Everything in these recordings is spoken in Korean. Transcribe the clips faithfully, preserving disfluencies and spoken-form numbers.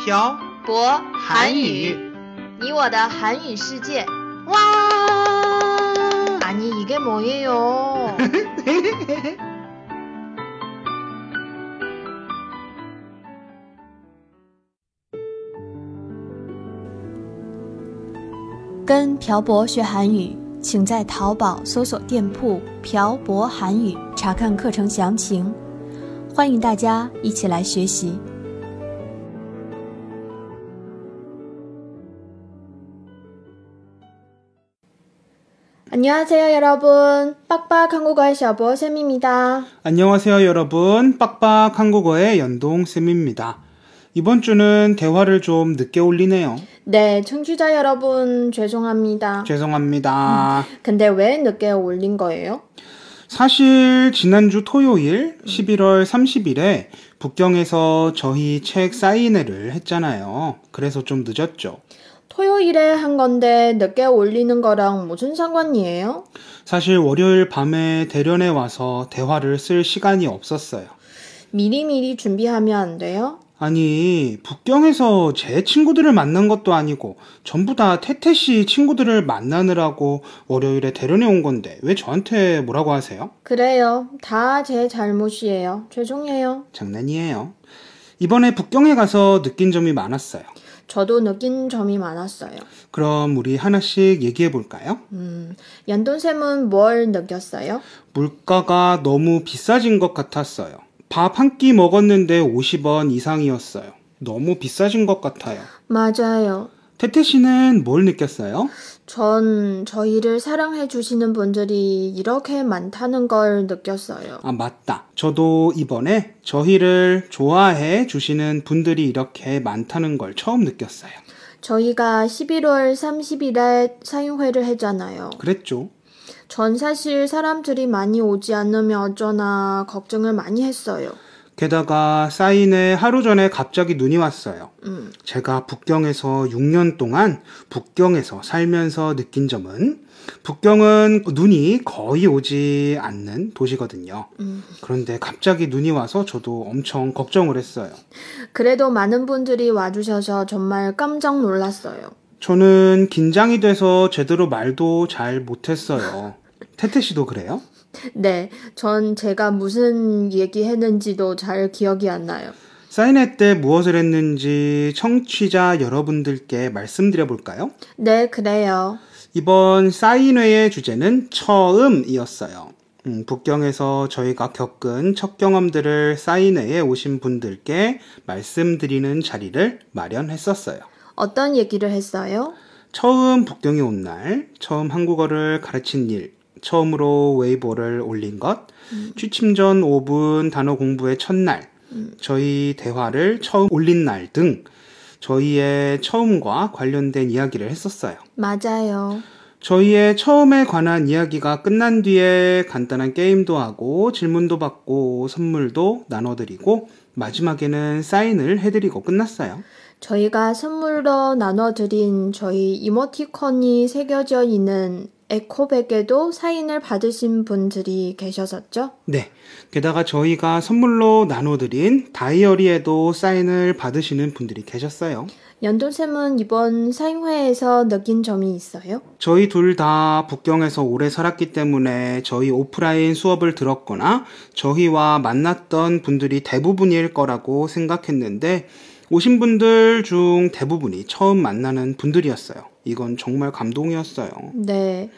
漂博韩语你我的韩语世界。 와 아니 이게 뭐예요? 跟朴博学韩语，请在淘宝搜索店铺朴博韩语查看课程详情。欢迎大家一起来学习。 안녕하세요 여러분. 빡빡 한국어의 셔보쌤입니다. 안녕하세요 여러분. 빡빡 한국어의 연동쌤입니다. 이번 주는 대화를 좀 늦게 올리네요. 네, 청취자 여러분 죄송합니다. 죄송합니다. 음, 근데 왜 늦게 올린 거예요? 사실 지난주 토요일 십일월 삼십일에 북경에서 저희 책 사인회를 했잖아요. 그래서 좀 늦었죠. 토요일에 한 건데 늦게 올리는 거랑 무슨 상관이에요? 사실 월요일 밤에 대련에 와서 대화를 쓸 시간이 없었어요. 미리미리 준비하면 안 돼요? 아니, 북경에서 제 친구들을 만난 것도 아니고 전부 다 태태씨 친구들을 만나느라고 월요일에 대련에 온 건데 왜 저한테 뭐라고 하세요? 그래요. 다 제 잘못이에요. 죄송해요. 장난이에요. 이번에 북경에 가서 느낀 점이 많았어요. 저도 느낀 점이 많았어요. 그럼 우리 하나씩 얘기해 볼까요? 음, 연돈쌤은 뭘 느꼈어요? 물가가 너무 비싸진 것 같았어요. 밥 한 끼 먹었는데 오십 원 이상이었어요. 너무 비싸진 것 같아요. 맞아요. 태태 씨는 뭘 느꼈어요? 전 저희를 사랑해 주시는 분들이 이렇게 많다는 걸 느꼈어요. 아, 맞다. 저도 이번에 저희를 좋아해 주시는 분들이 이렇게 많다는 걸 처음 느꼈어요. 저희가 십일월 삼십일에 사인회를 했잖아요. 그랬죠. 전 사실 사람들이 많이 오지 않으면 어쩌나 걱정을 많이 했어요. 게다가 사인회 하루 전에 갑자기 눈이 왔어요. 음. 제가 북경에서 육 년 동안 북경에서 살면서 느낀 점은 북경은 눈이 거의 오지 않는 도시거든요. 음. 그런데 갑자기 눈이 와서 저도 엄청 걱정을 했어요. 그래도 많은 분들이 와주셔서 정말 깜짝 놀랐어요. 저는 긴장이 돼서 제대로 말도 잘 못했어요. 태태 씨도 그래요? 네, 전 제가 무슨 얘기했는지도 잘 기억이 안 나요. 사인회 때 무엇을 했는지 청취자 여러분들께 말씀드려 볼까요? 네, 그래요. 이번 사인회의 주제는 처음이었어요. 음, 북경에서 저희가 겪은 첫 경험들을 사인회에 오신 분들께 말씀드리는 자리를 마련했었어요. 어떤 얘기를 했어요? 처음 북경에 온 날, 처음 한국어를 가르친 일, 처음으로 웨이보를 올린 것, 음. 취침 전 오 분 단어 공부의 첫날, 음. 저희 대화를 처음 올린 날 등 저희의 처음과 관련된 이야기를 했었어요. 맞아요. 저희의 처음에 관한 이야기가 끝난 뒤에 간단한 게임도 하고 질문도 받고 선물도 나눠드리고 마지막에는 사인을 해드리고 끝났어요. 저희가 선물로 나눠드린 저희 이모티콘이 새겨져 있는 에코백에도 사인을 받으신 분들이 계셨었죠? 네. 게다가 저희가 선물로 나눠드린 다이어리에도 사인을 받으시는 분들이 계셨어요. 연돈쌤은 이번 사인회에서 느낀 점이 있어요? 저희 둘 다 북경에서 오래 살았기 때문에 저희 오프라인 수업을 들었거나 저희와 만났던 분들이 대부분일 거라고 생각했는데 오신 분들 중 대부분이 처음 만나는 분들이었어요. 이건 정말 감동이었어요. 네,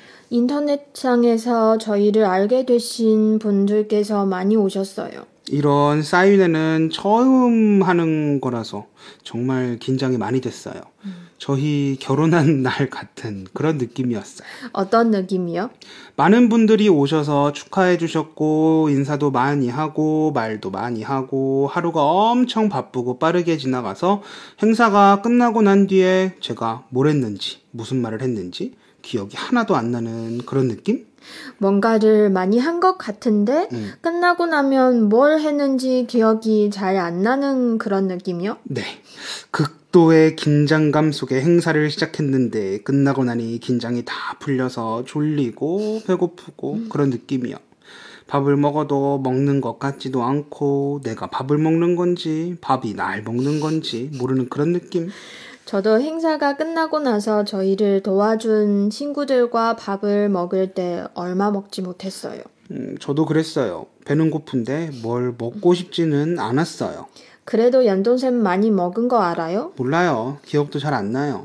인터넷상에서 저희를 알게 되신 분들께서 많이 오셨어요. 이런 사인회는 처음 하는 거라서 정말 긴장이 많이 됐어요. 음. 저희 결혼한 날 같은 그런 느낌이었어요. 어떤 느낌이요? 많은 분들이 오셔서 축하해 주셨고 인사도 많이 하고 말도 많이 하고 하루가 엄청 바쁘고 빠르게 지나가서 행사가 끝나고 난 뒤에 제가 뭘 했는지 무슨 말을 했는지 기억이 하나도 안 나는 그런 느낌? 뭔가를 많이 한 것 같은데 음. 끝나고 나면 뭘 했는지 기억이 잘 안 나는 그런 느낌이요? 네. 극도의 긴장감 속에 행사를 시작했는데 끝나고 나니 긴장이 다 풀려서 졸리고 배고프고 음. 그런 느낌이요. 밥을 먹어도 먹는 것 같지도 않고 내가 밥을 먹는 건지 밥이 날 먹는 건지 모르는 그런 느낌. 저도 행사가 끝나고 나서 저희를 도와준 친구들과 밥을 먹을 때 얼마 먹지 못했어요. 음, 저도 그랬어요. 배는 고픈데 뭘 먹고 싶지는 않았어요. 그래도 연돈샘 많이 먹은 거 알아요? 몰라요. 기억도 잘 안 나요.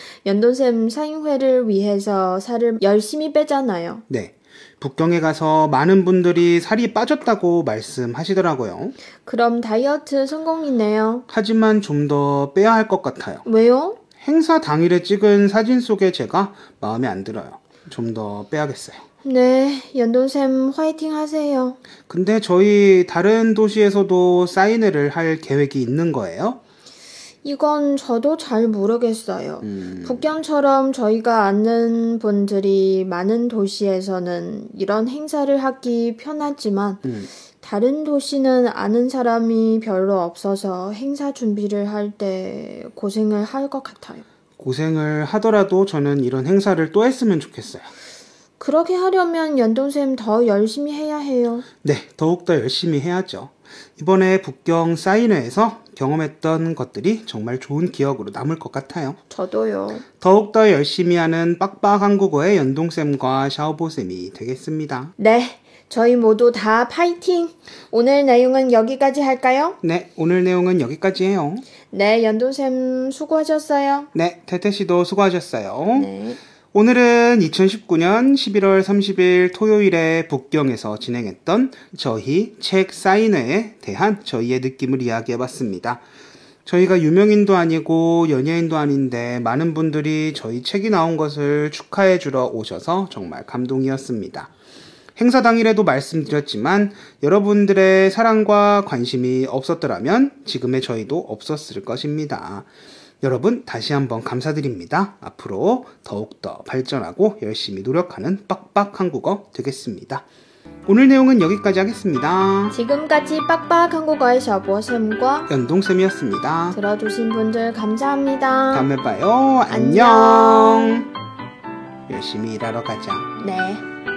연돈샘 사인회를 위해서 살을 열심히 빼잖아요. 네. 북경에 가서 많은 분들이 살이 빠졌다고 말씀하시더라고요. 그럼 다이어트 성공이네요. 하지만 좀 더 빼야 할 것 같아요. 왜요? 행사 당일에 찍은 사진 속에 제가 마음에 안 들어요. 좀 더 빼야겠어요. 네, 연돈샘 화이팅 하세요. 근데 저희 다른 도시에서도 사인회를 할 계획이 있는 거예요? 이건 저도 잘 모르겠어요. 음, 북경처럼 저희가 아는 분들이 많은 도시에서는 이런 행사를 하기 편하지만 음, 다른 도시는 아는 사람이 별로 없어서 행사 준비를 할 때 고생을 할 것 같아요. 고생을 하더라도 저는 이런 행사를 또 했으면 좋겠어요. 그렇게 하려면 연돈샘 더 열심히 해야 해요. 네, 더욱더 열심히 해야죠. 이번에 북경 사인회에서 경험했던 것들이 정말 좋은 기억으로 남을 것 같아요. 저도요. 더욱더 열심히 하는 빡빡 한국어의 연동쌤과 샤오보쌤이 되겠습니다. 네, 저희 모두 다 파이팅! 오늘 내용은 여기까지 할까요? 네, 오늘 내용은 여기까지 해요. 네, 연돈샘 수고하셨어요. 네, 태태씨도 수고하셨어요. 네. 오늘은 이천십구 년 십일월 삼십일 토요일에 북경에서 진행했던 저희 책 사인회에 대한 저희의 느낌을 이야기해봤습니다. 저희가 유명인도 아니고 연예인도 아닌데 많은 분들이 저희 책이 나온 것을 축하해주러 오셔서 정말 감동이었습니다. 행사 당일에도 말씀드렸지만 여러분들의 사랑과 관심이 없었더라면 지금의 저희도 없었을 것입니다. 여러분 다시 한번 감사드립니다. 앞으로 더욱더 발전하고 열심히 노력하는 빡빡 한국어 되겠습니다. 오늘 내용은 여기까지 하겠습니다. 지금까지 빡빡 한국어의 샤보쌤과 연동쌤이었습니다. 들어주신 분들 감사합니다. 다음에 봐요. 안녕. 열심히 일하러 가자. 네.